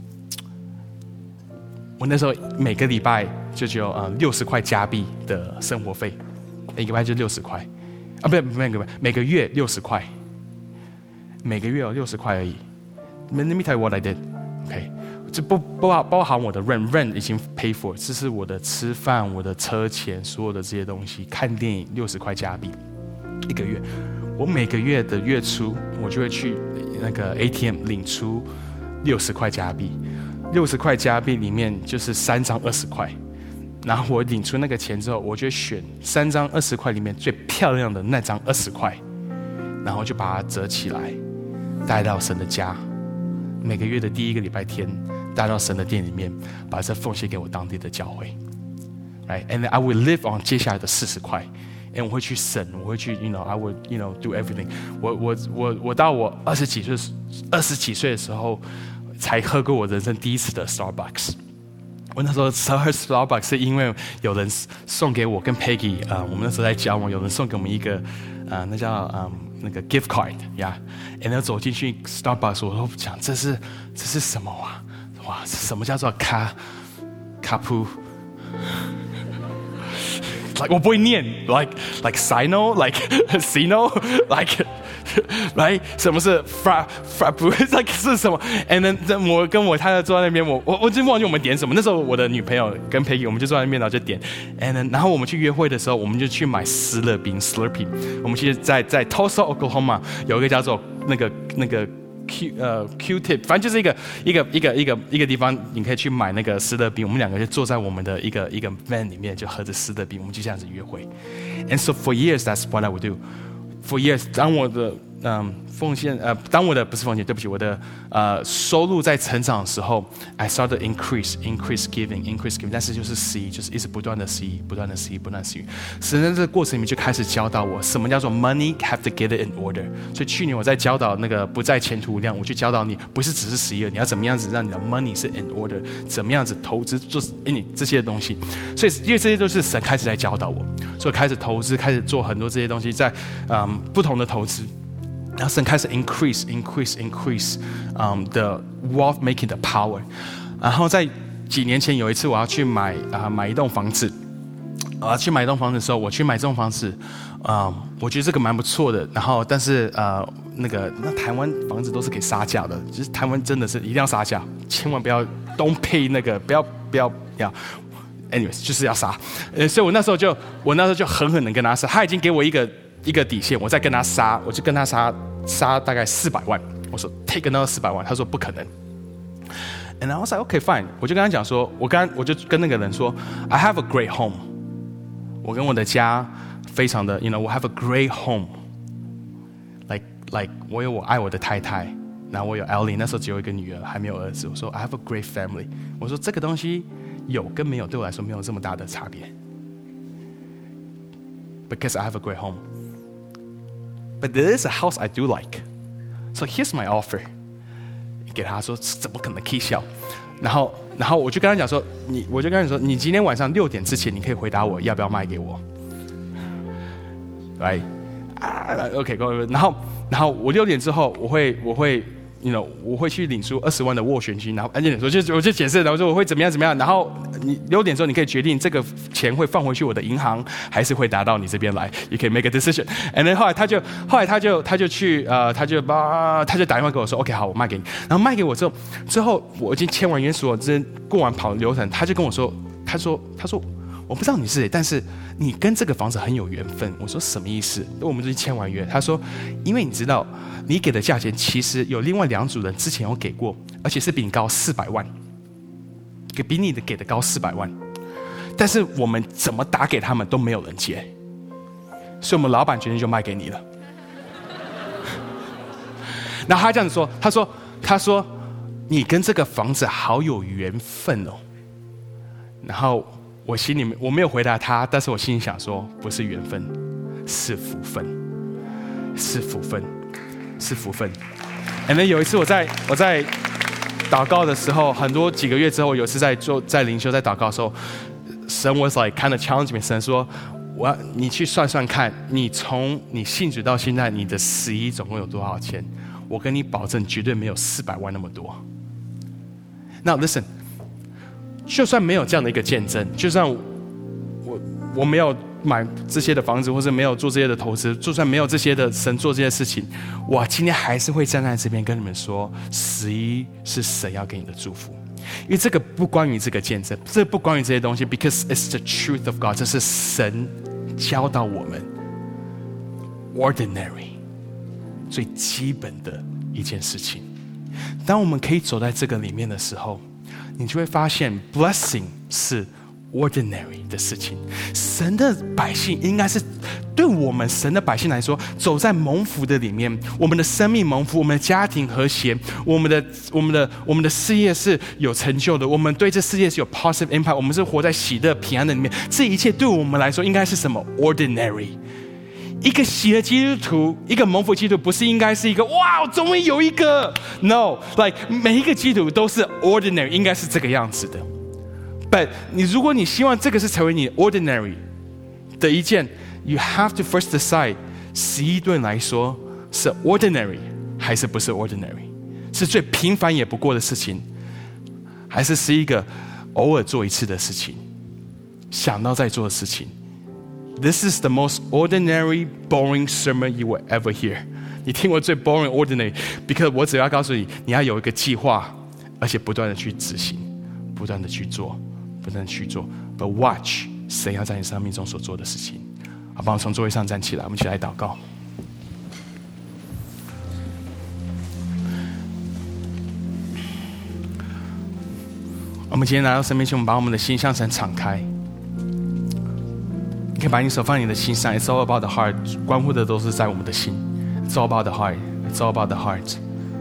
我那时候每个礼拜就只有60块加币的生活费，每个礼拜就60块，啊，不是每个月60块，每个月有60块而已。Let me tell you what I did, OK。这不包含我的 rent 已经 pay for， 这是我的吃饭、我的车钱，所有的这些东西，看电影60块加币一个月。我每个月的月初，我就会去那个 ATM 领出60块加币，60块加币里面就是3张20块，然后我领出那个钱之后，我就选3张20块里面最漂亮的那张20块， 然后就把它折起来，带到神的家。每个月的第1个礼拜天，带到神的殿里面，把这奉献给我当地的教会。Right, and I will live on 接下来的40块。我会去省，我会去 I would do everything。我到我20几岁的时候，才喝过我人生第一次的 Starbucks。我那时候喝 Starbucks 是因为有人送给我跟 Peggy， 我们那时候在交往，有人送给我们一个那叫那个 gift card 呀。然后走进去 Starbucks， 我都讲这是什么啊？哇，什么叫做卡普？Like 我不会念 ，like sino like sino like right 什么是 like 是什么 ？And then 我跟我太太坐在那边，我真忘记我们点什么。那时候我的女朋友跟 Peggy 我们就坐在那边，然后就点。And then 然后我们去约会的时候，我们就去买斯乐冰 Slurpee。我们其实在 Tulsa Oklahoma 有一个叫做那个。Q-tip， 反正就是一个地方，你可以去买那个斯乐冰。我们2个就坐在我们的一个 van 里面，就喝着斯乐冰，我们就这样子约会。And so for years, that's what I would do. For years， 当我的奉献不是奉献，对不起，我的收入在成长的时候 ，I started increase giving， 但是就是11，就是一直不断的11。神在这个过程里面就开始教导我什么叫做 money have to get it in order。所以去年我在教导那个不在前途量，我去教导你，不是只是11，你要怎么样子让你的 money 是 in order， 怎么样子投资做你这些东西。所以因为这些都是神开始在教导我，所以开始投资，开始做很多这些东西，在不同的投资。然后神开始 increase the wealth making 的 power。然后在几年前有一次我要去买一栋房子，去买一栋房子的时候，我去买这栋房子，我觉得这个蛮不错的。然后但是那台湾房子都是可以杀价的，就是台湾真的是一定要杀价，千万不要 don't pay 那个不要。anyways 就是要杀。所以我那时候就狠狠的跟他杀，他已经给我一个底线，我再跟他杀，我就跟他杀大概400万。我说 take another 400万，他说不可能。And I was like okay fine， 我就跟他讲说，我就跟那个人说 I have a great home， 我跟我的家非常的我 have a great home， like 我爱我的太太，然后我有 Ellie， 那时候只有一个女儿，还没有儿子。我说 I have a great family， 我说这个东西有跟没有对我来说没有这么大的差别。Because I have a great home。But there is a house I do like, so here's my offer. 给他说怎么可能可以笑？然后我就跟他讲说，你今天晚上6点之前，你可以回答我要不要卖给我。Right? OK， 然后我6点之后，我会去领出20万的斡旋金，然后我就解释，然后说我会怎么样，然后你6点之后你可以决定这个钱会放回去我的银行，还是会拿到你这边来。You can make a decision. And then 后来他就去他就打电话给我说 OK 好，我卖给你。然后卖给我之后我已经签完约所有，过完跑流程，他就跟我说，他说我不知道你是谁，但是你跟这个房子很有缘分。我说什么意思？我们已经签完约。他说，因为你知道，你给的价钱其实有另外2组人之前有给过，而且是比你高400万，比你的给的高400万。但是我们怎么打给他们都没有人接，所以我们老板决定就卖给你了。然后他这样子说，他说你跟这个房子好有缘分哦。然后我心里面我没有回答他，但是我心里想说，不是缘分，是福分，是福分，是福分。And then 有一次我在祷告的时候，几个月之后，有一次在灵修在祷告的时候，神 was like kind of challenge me， 神说，你去算算看，你从你信主到现在，你的11总共有多少钱？我跟你保证，绝对没有400万那么多。Now listen。就算没有这样的一个见证，就算我没有买这些的房子，或者没有做这些的投资，就算没有这些的神做这些事情，我今天还是会站在这边跟你们说，11是神要给你的祝福，因为这个不关于这个见证，这不关于这些东西 ，because it's the truth of God， 这是神教导我们 ordinary 最基本的一件事情。当我们可以走在这个里面的时候，你就会发现 blessing 是 ordinary 的事情。神的百姓应该是对我们神的百姓来说，走在蒙福的里面，我们的生命蒙福，我们的家庭和谐，我们的事业是有成就的，我们对这世界是有 positive impact， 我们是活在喜乐平安的里面。这一切对我们来说应该是什么 ordinary。一个喜乐基督徒，一个蒙福基督徒，不是应该是一个哇，终于有一个 no，like 每一个基督徒都是 ordinary， 应该是这个样子的。But 如果你希望这个是成为你 ordinary 的一件 ，you have to first decide 11对你来说是 ordinary 还是不是 ordinary， 是最平凡也不过的事情，还是一个偶尔做一次的事情，想到再做的事情。This is the most ordinary, boring sermon you will ever hear. 你听过最 boring, ordinary, because 我只要告诉你，你要有一个计划，而且不断的去执行，不断的去做，不断的去做。But watch 神要在你生命中所做的事情。好，帮我从座位上站起来，我们一起来祷告。我们今天来到神面前，我们把我们的心向神敞开。你可以把你手放在你的心上 ，It's all about the heart， 关乎的都是在我们的心。It's all about the heart. It's all about the heart.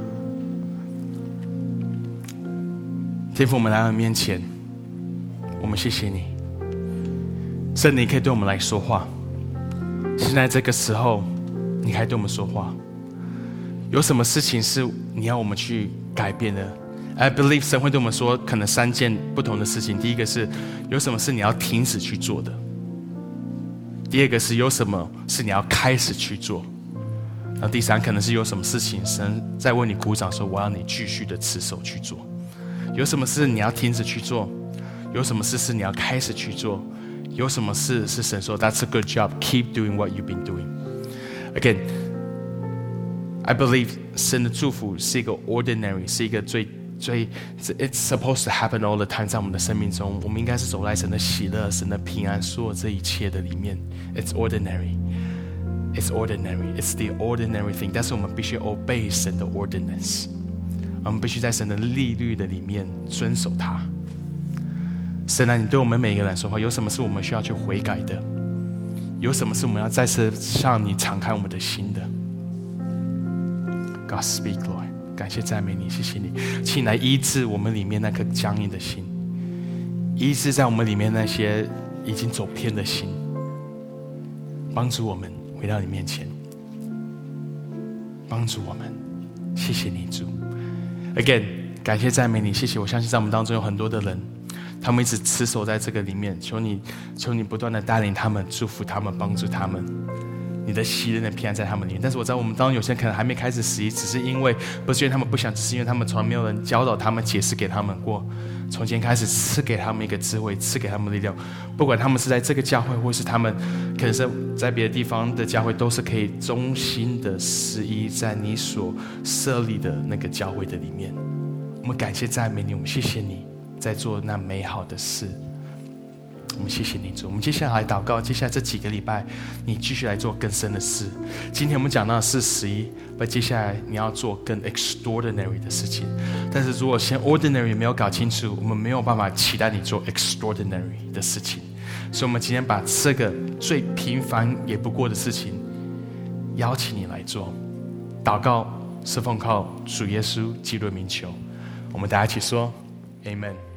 天父，我们来到你面前，我们谢谢你，圣灵可以对我们来说话。现在这个时候，你还对我们说话。有什么事情是你要我们去改变的？ I believe 神会对我们说，可能3件不同的事情。第一个是，有什么是你要停止去做的？第二个是，有什么是你要开始去做？然后第三，可能是有什么事情，神在为你鼓掌说，我要你继续的持守去做。有什么事你要停止去做？有什么事是你要开始去做？有什么事是神说 That's a good job, keep doing what you've been doing. Again, I believe 神的祝福是一个 ordinary， 是一个最 It's supposed to happen all the time， 在我们的生命中，我们应该是走在神的喜乐、神的平安，所有这一切的里面。It's ordinary, it's ordinary, it's the ordinary thing。但是我们必须 obey 神的 ordinance， 我们必须在神的律例的里面遵守它。神啊，你对我们每一个人说话，有什么是我们需要去悔改的？有什么是我们要再次向你敞开我们的心的 ？God speak, Lord。感谢赞美你，谢谢你，请来医治我们里面那颗僵硬的心，医治在我们里面那些已经走偏的心，帮助我们回到你面前，帮助我们，谢谢你主。Again， 感谢赞美你，谢谢。我相信在我们当中有很多的人，他们一直持守在这个里面，求你不断的带领他们，祝福他们，帮助他们。你的喜乐的平安在他们里面，但是我知道我们当中有些人可能还没开始11，只是因为不是因为他们不想，只是因为他们从来没有人教导他们、解释给他们过。从今天开始，赐给他们一个智慧，赐给他们力量。不管他们是在这个教会，或是他们可能是在别的地方的教会，都是可以忠心的11在你所设立的那个教会的里面。我们感谢赞美你，我们谢谢你在做那美好的事。我们谢谢你主，我们接下来祷告，接下来这几个礼拜，你继续来做更深的事。今天我们讲到的是11，但接下来你要做更 extraordinary 的事情。但是如果先 ordinary 没有搞清楚，我们没有办法期待你做 extraordinary 的事情。所以，我们今天把这个最平凡也不过的事情，邀请你来做。祷告是奉靠主耶稣基督的名求。我们大家一起说 ，Amen。